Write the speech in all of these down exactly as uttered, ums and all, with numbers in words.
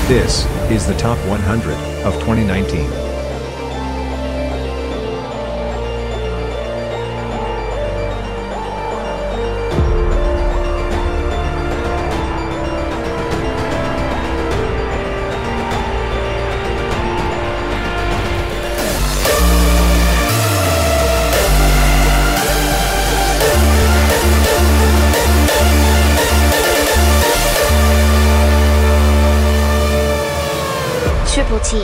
This is the Top one hundred of twenty nineteen. Triple T.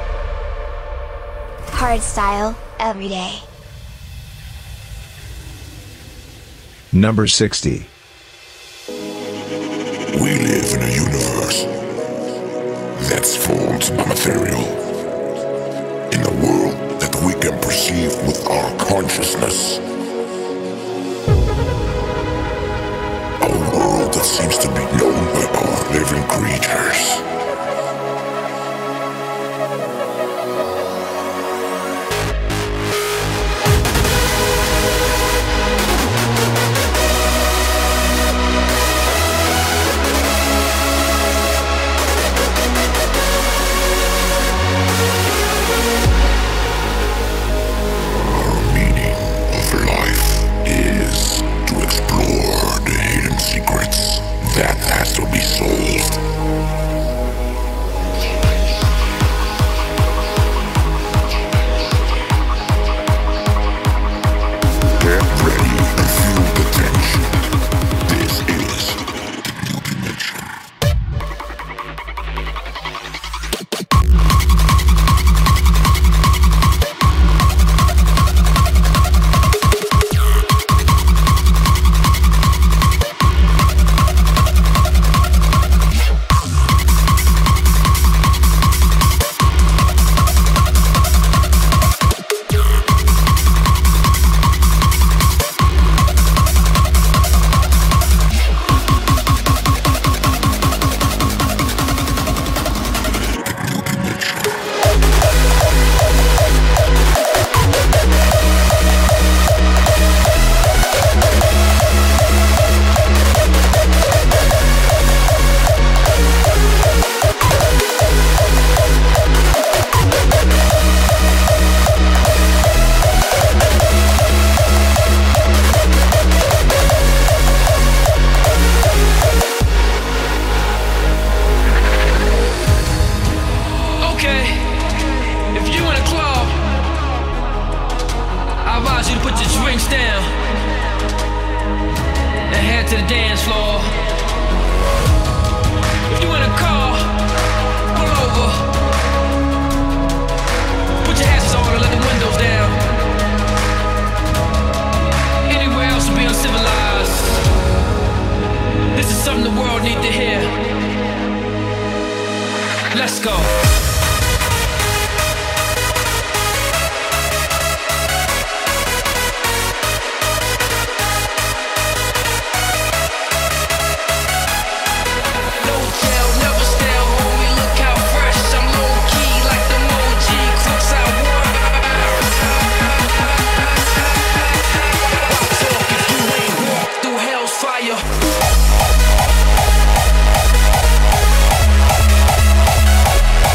Hard style, every day. Number sixty. We live in a universe that's formed by material. In a world that we can perceive with our consciousness. A world that seems to be known by our living creatures. That has to be solved. Get ready and feel the tension. This is the new dimension. Fire.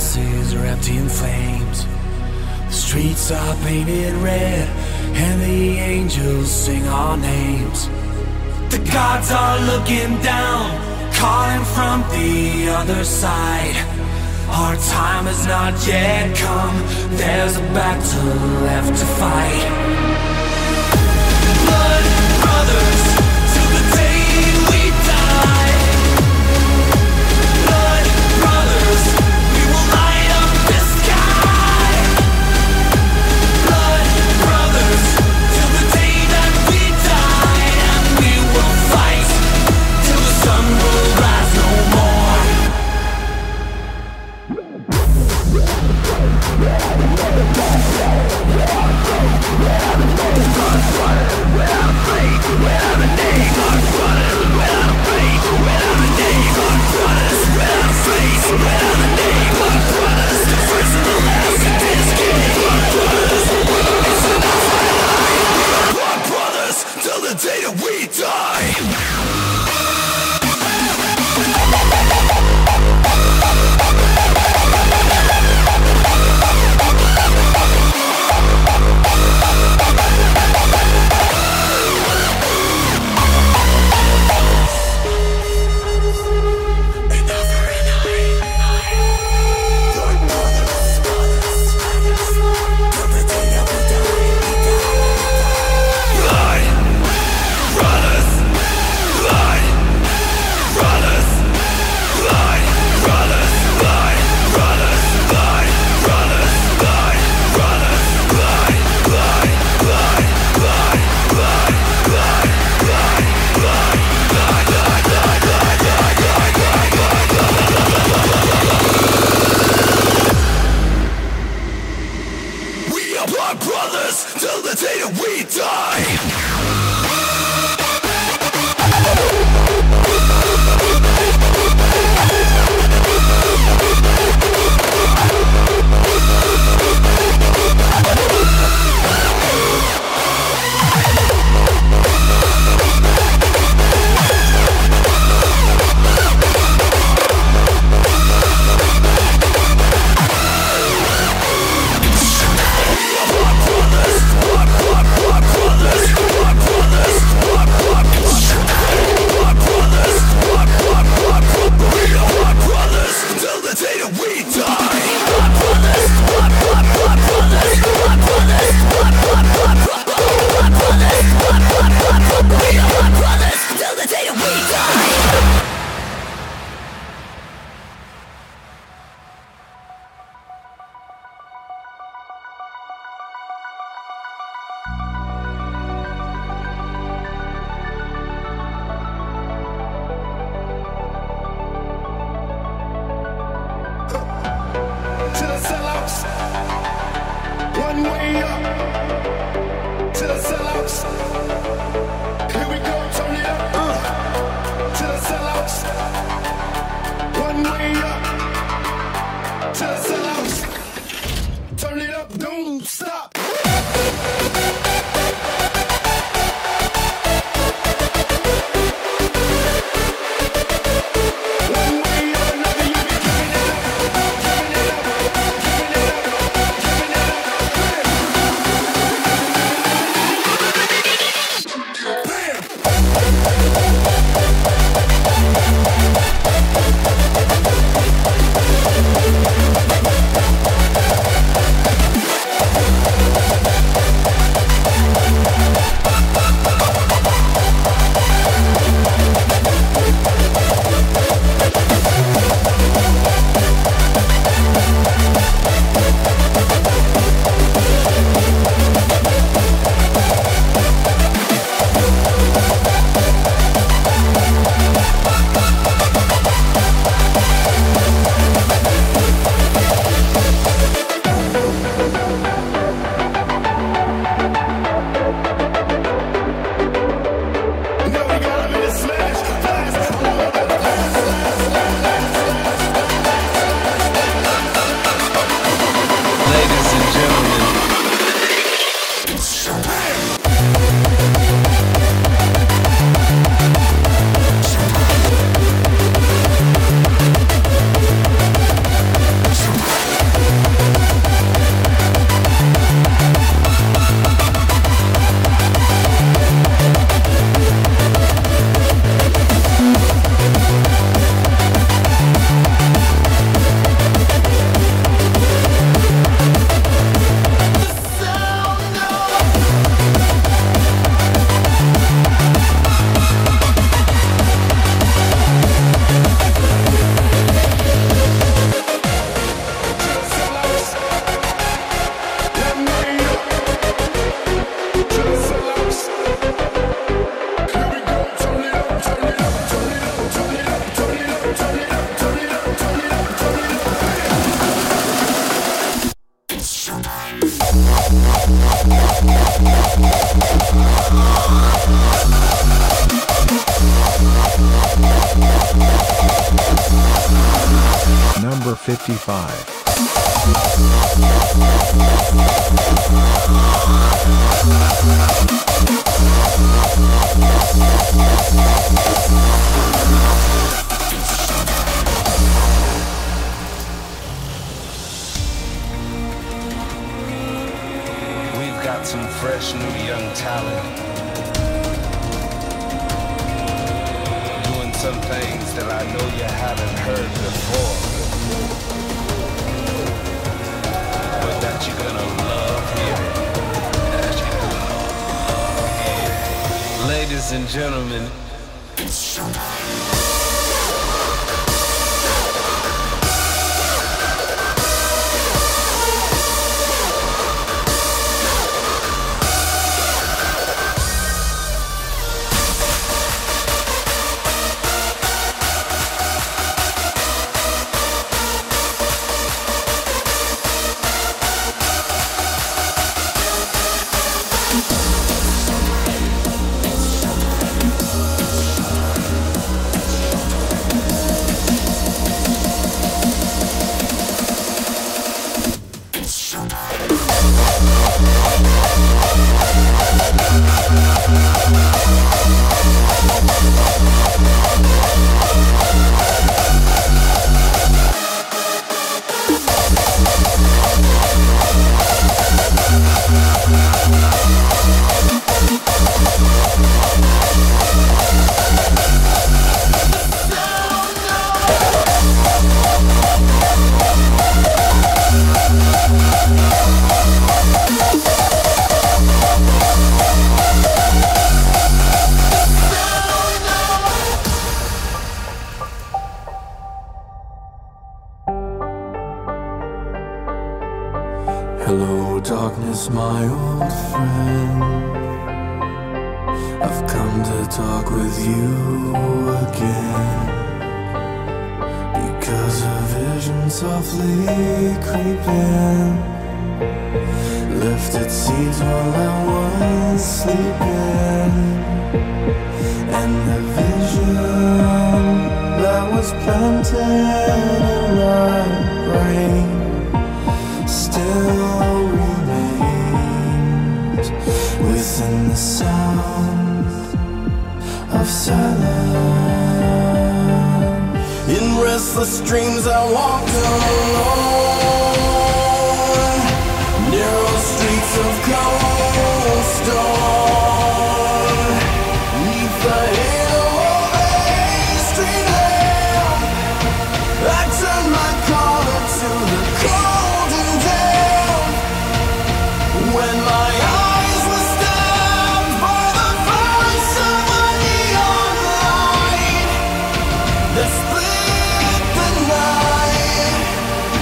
houses are empty in flames. The streets are painted red, and the angels sing our names. The gods are looking down, calling from the other side. Our time has not yet come, there's a battle left to fight. Blood brothers, till the day we die. Blood brothers, we will light up the sky. Blood brothers, till the day that we die. And we will fight till the sun will rise no more. Till the day that we die. Till the day that we die. Number fifty-five. We've got some fresh new young talent doing some things that I know you haven't heard before, but that you're gonna love hearing. Ladies and gentlemen, hello, darkness, my old friend. I've come to talk with you again, because a vision softly creeping left its seeds while I was sleeping, and the vision that was planted in my brain still remains within the sound of silence. In restless dreams I walked alone, narrow streets of cobblestone, neath the halo of a street lamp. I turned my collar to the cold and damp, when my eyes were stabbed by the voice of a neon light that split the night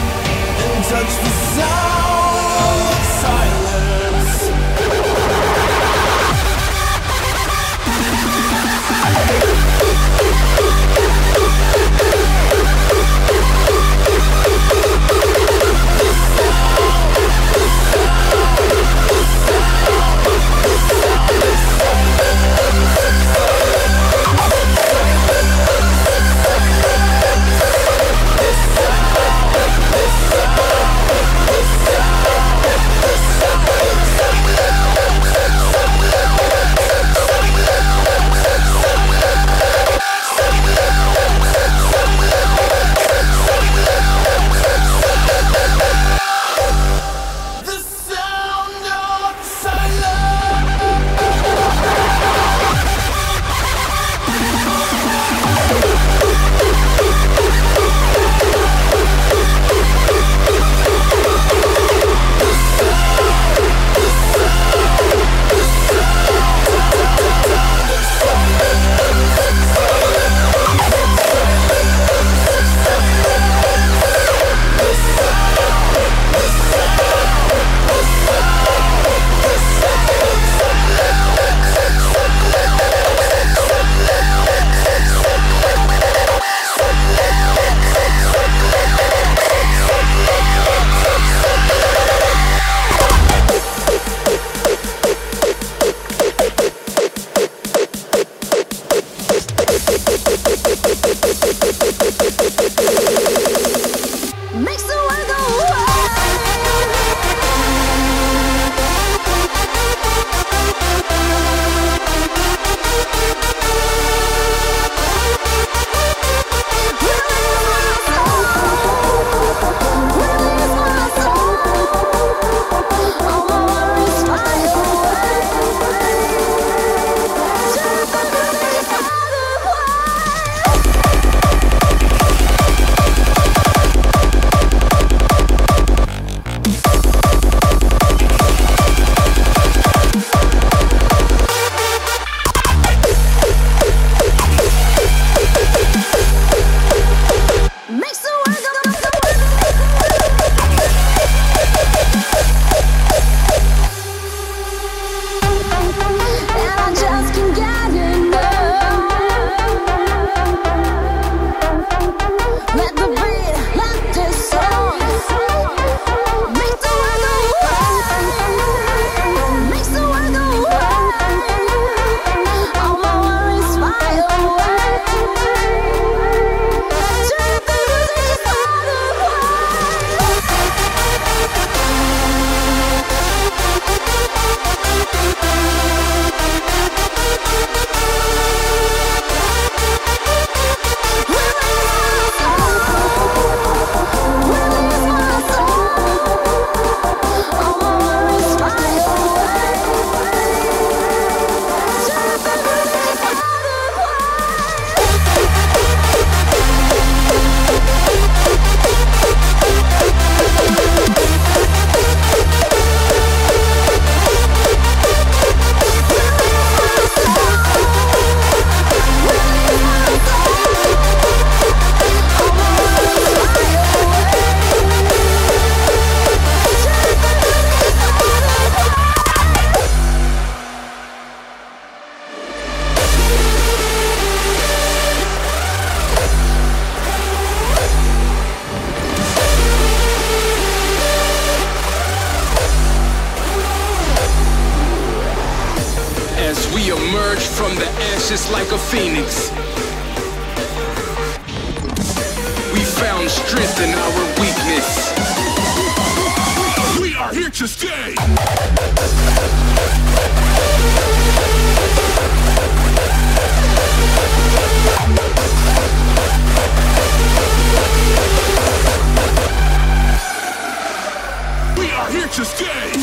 just like a phoenix. We found strength in our weakness. We are here to stay. We are here to stay.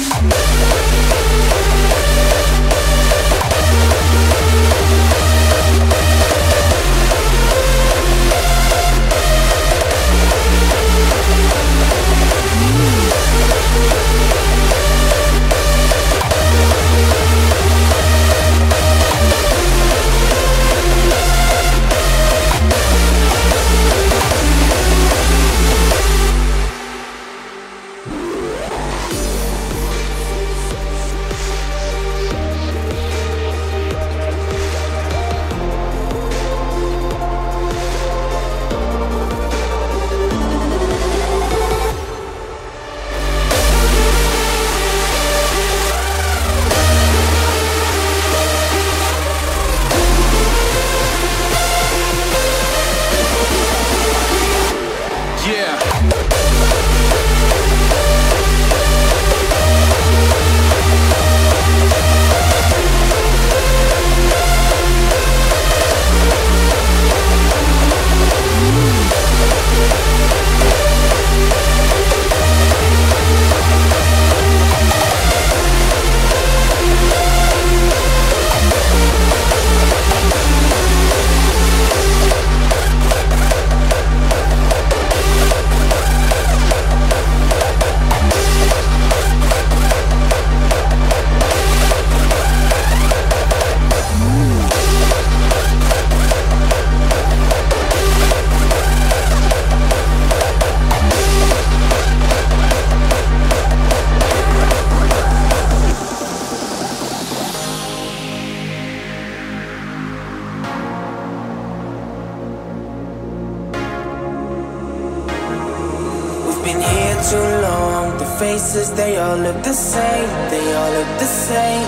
Faces, they all look the same, they all look the same.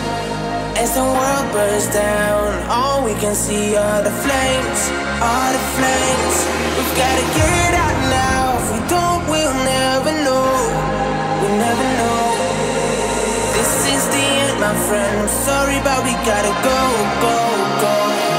As the world burns down, all we can see are the flames, are the flames. We've gotta get out now, if we don't, we'll never know, we'll never know. This is the end, my friend, I'm sorry, but we gotta go, go, go.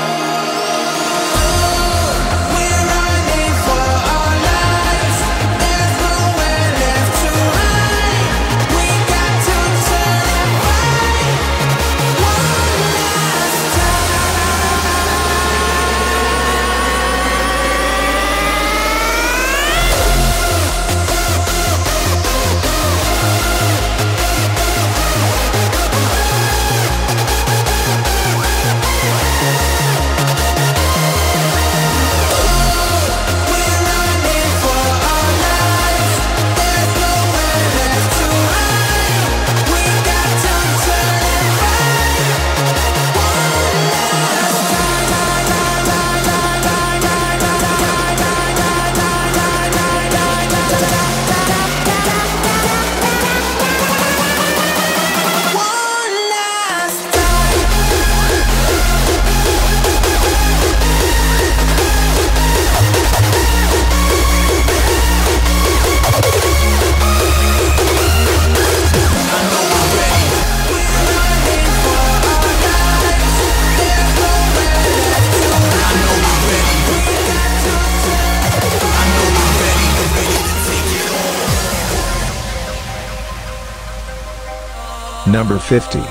Number fifty.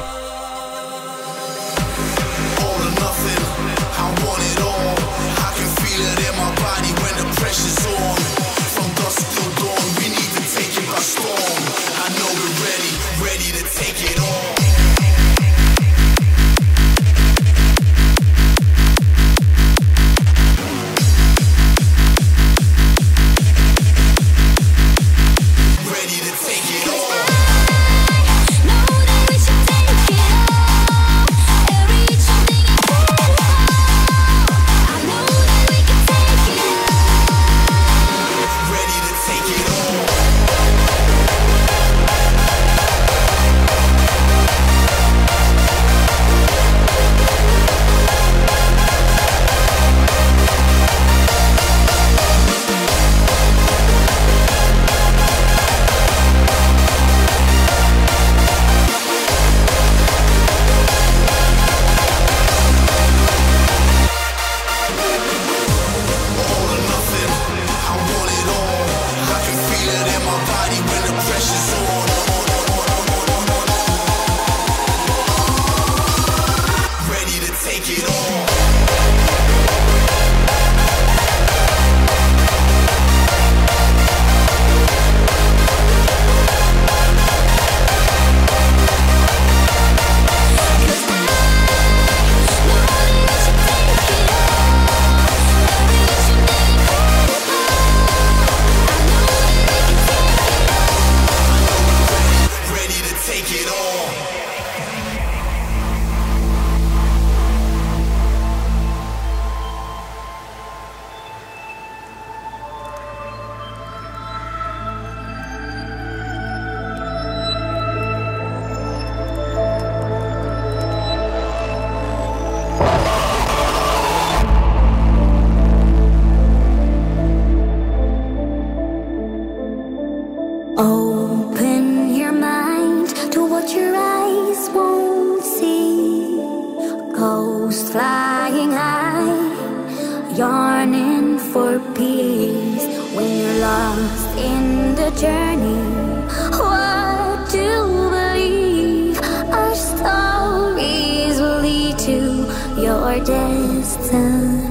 flying high, yearning for peace. When you're lost in the journey, what do you believe? Our stories will lead to your destiny.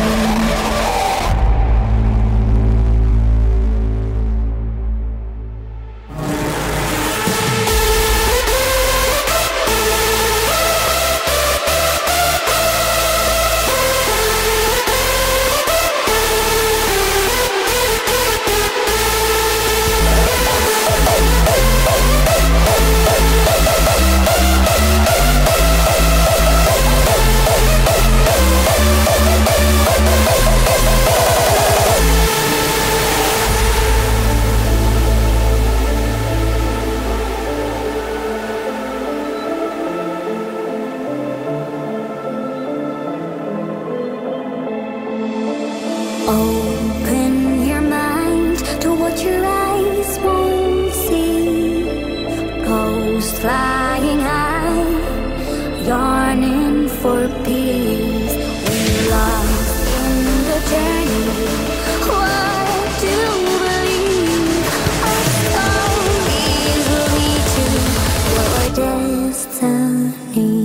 Open your mind to what your eyes won't see. Ghost flying high, yearning for peace. When you're lost in the journey, what do you believe? Our stories will lead to your destiny.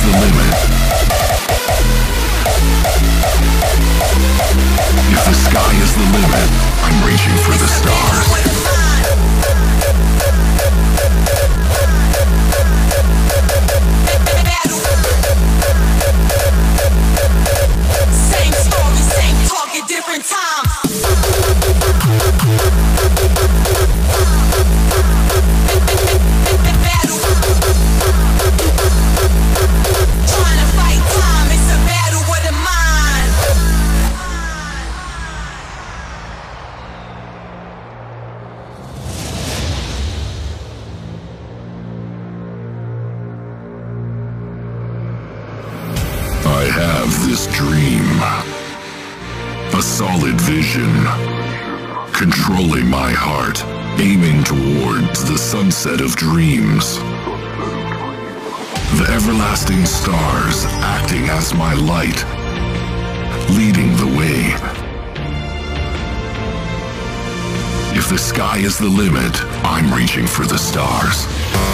the limit, if the sky is the limit, I'm reaching for the stars. Same story, same target, different time. Trying to fight time, it's a battle with a mind. I have this dream, a solid vision, controlling my heart, aiming towards the sunset of dreams. The everlasting stars acting as my light, leading the way. If the sky is the limit, I'm reaching for the stars.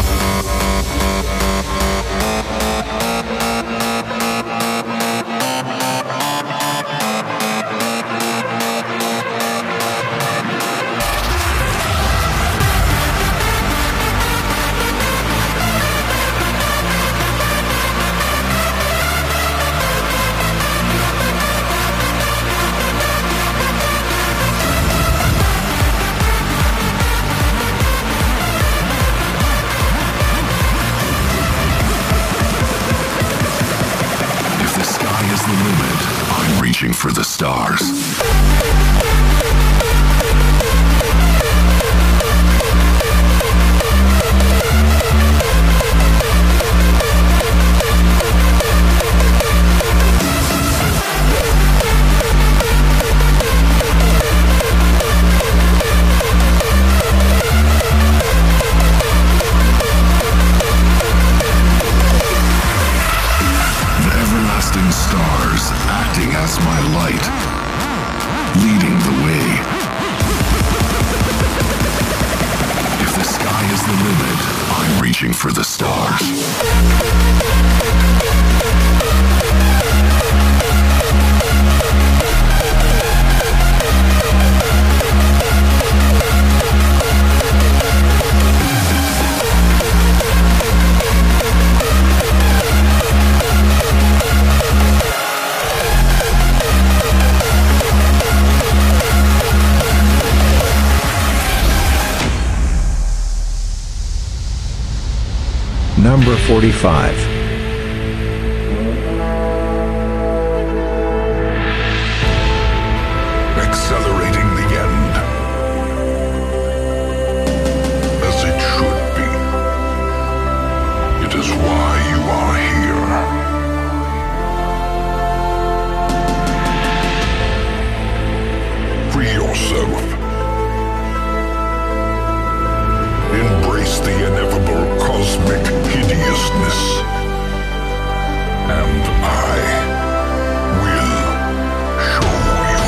Reaching for the stars. Stars acting as my light, leading the way. If the sky is the limit, I'm reaching for the stars. Number forty-five. Accelerating the end, as it should be. It is why you are here. Free yourself. Embrace the ineffable cosmic hideousness, and I will show you.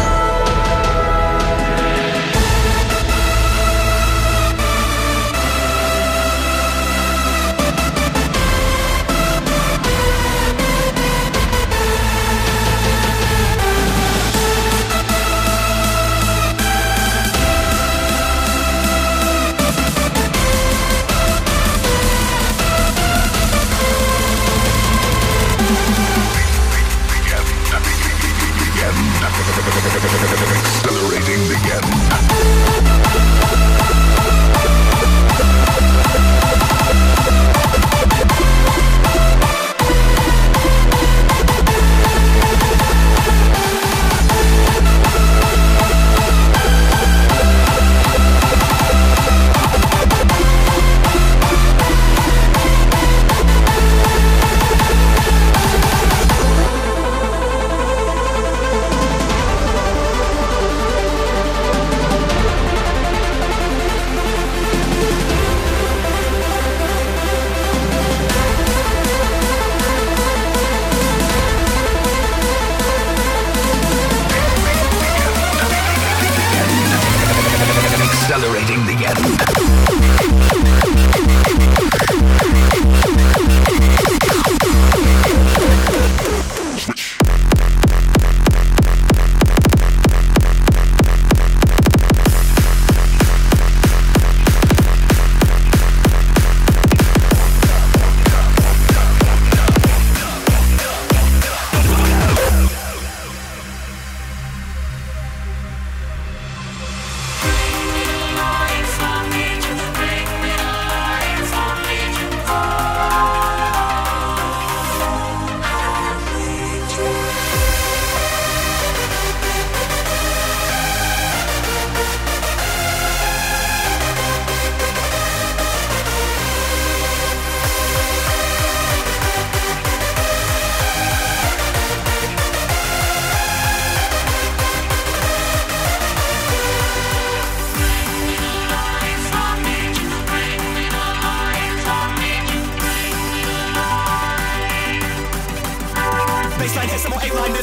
baseline, hit some more eight-liners.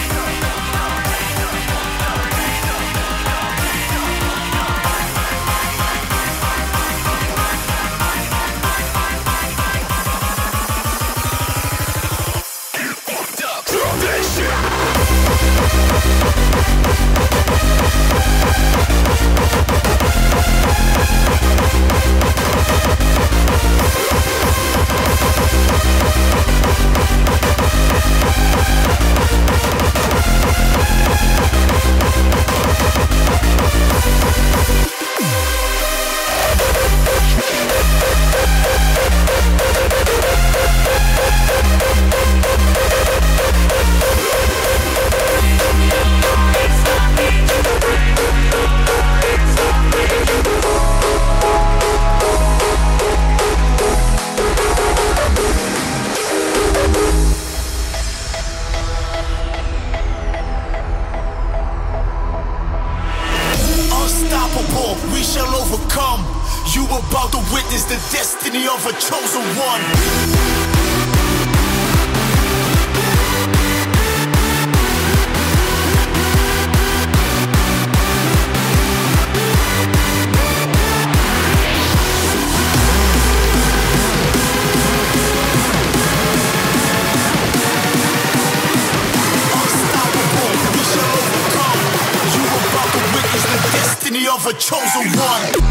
Of a chosen one.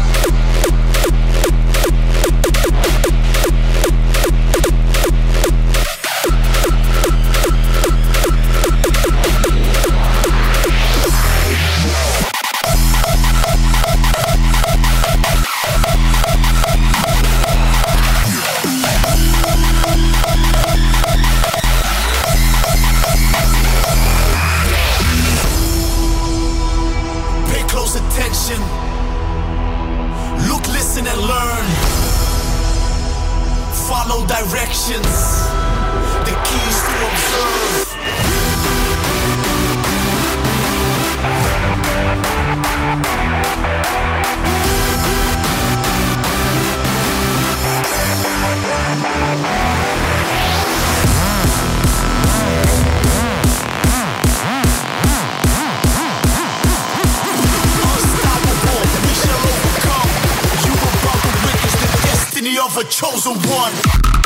Of a chosen one.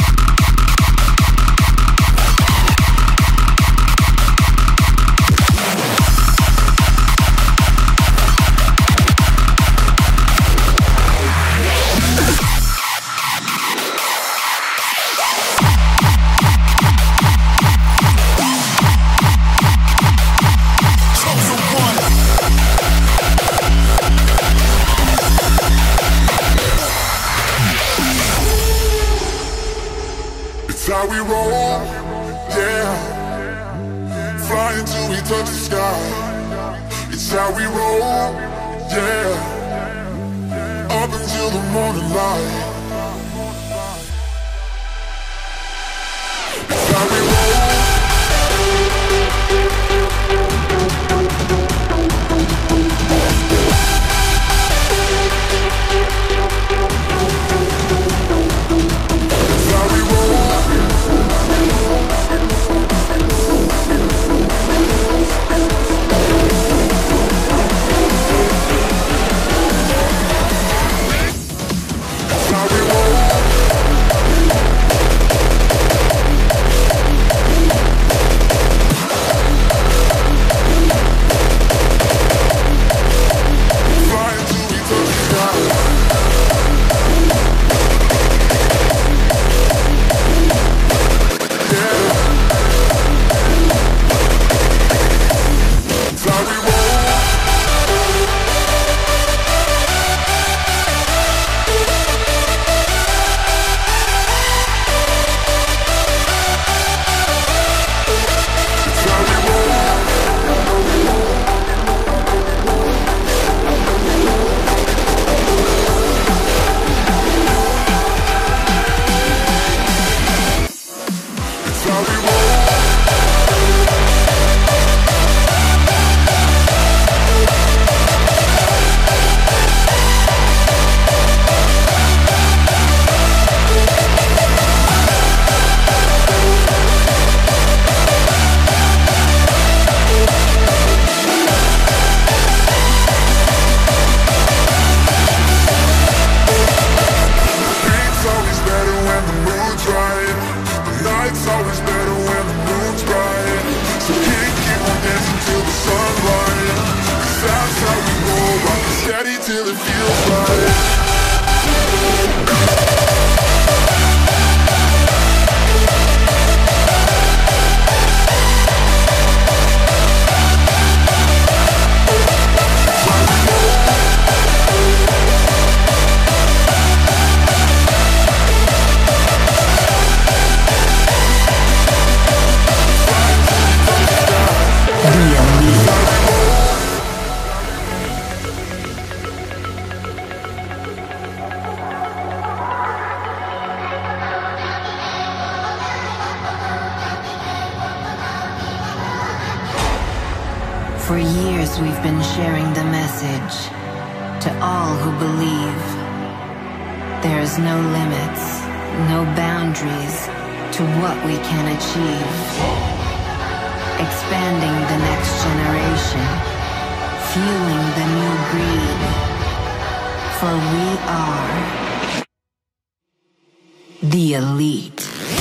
How we roll, yeah. Flying till we touch the sky. It's how we roll, yeah. Up until the morning light. It's how we roll. How For years we've been sharing the message to all who believe. There's no limits, no boundaries to what we can achieve. Expanding the next generation, fueling the new breed. For we are the elite.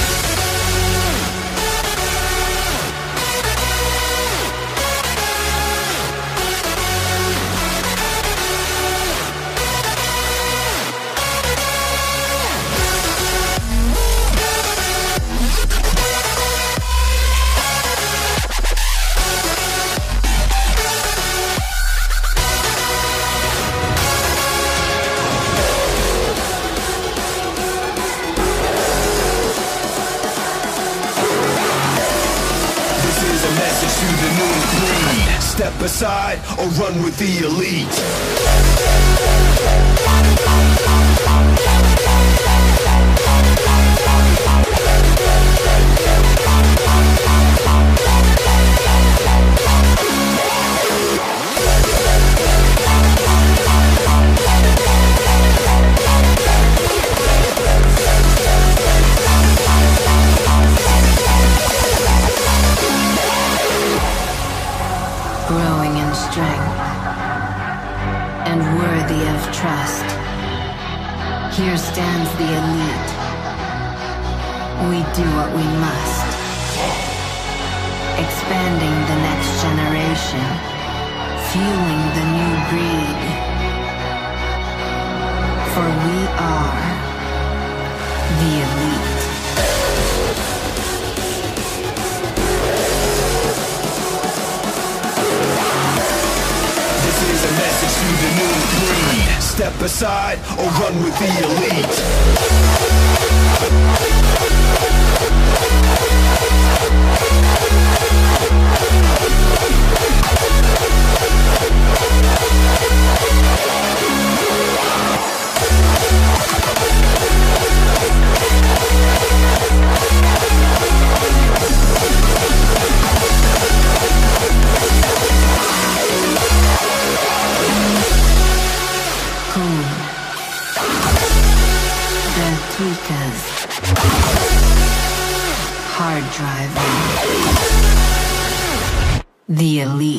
Step aside or run with the elite. Growing in strength and worthy of trust. Here stands the elite. We do what we must. Expanding the next generation, fueling the new breed. For we are the elite. This is a message to the new breed. Step aside or run with the elite. Tweakers, hard driving, the elite.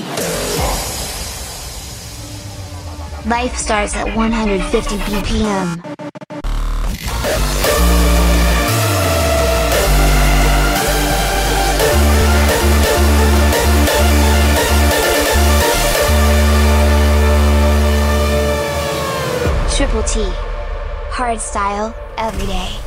Life starts at one hundred fifty B P M. Triple T. Hard style, every day.